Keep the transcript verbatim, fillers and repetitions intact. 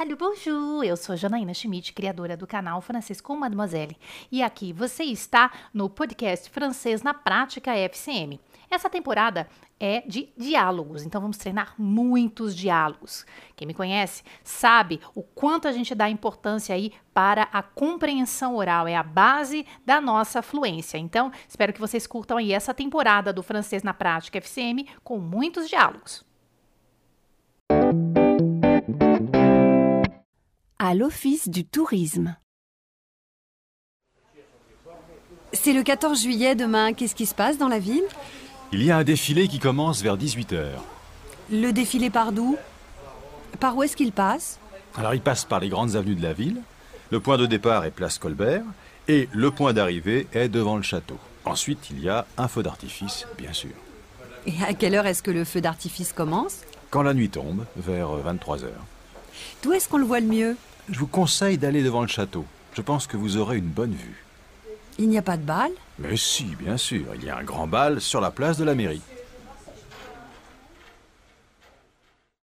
Alô, bonjour! Eu sou Janaína Schmidt, criadora do canal Francês com Mademoiselle. E aqui você está no podcast Francês na Prática F C M. Essa temporada é de diálogos, então vamos treinar muitos diálogos. Quem me conhece sabe o quanto a gente dá importância aí para a compreensão oral, é a base da nossa fluência. Então, espero que vocês curtam aí essa temporada do Francês na Prática F C M com muitos diálogos. À l'Office du tourisme. C'est le quatorze juillet demain. Qu'est-ce qui se passe dans la ville? Il y a un défilé qui commence vers dix-huit heures. Le défilé part d'où? Par où est-ce qu'il passe? Alors il passe par les grandes avenues de la ville. Le point de départ est place Colbert et le point d'arrivée est devant le château. Ensuite, il y a un feu d'artifice, bien sûr. Et à quelle heure est-ce que le feu d'artifice commence? Quand la nuit tombe, vers vingt-trois heures. D'où est-ce qu'on le voit le mieux? Je vous conseille d'aller devant le château. Je pense que vous aurez une bonne vue. Il n'y a pas de bal? Mais si, bien sûr, il y a un grand bal sur la place de la mairie.